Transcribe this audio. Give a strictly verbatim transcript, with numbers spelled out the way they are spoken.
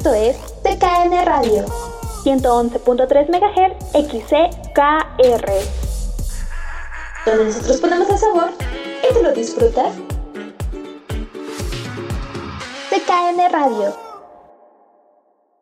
Esto es T K N Radio, ciento once punto tres megahertz X C K R, donde nosotros ponemos el sabor y tú lo disfrutas. T K N Radio.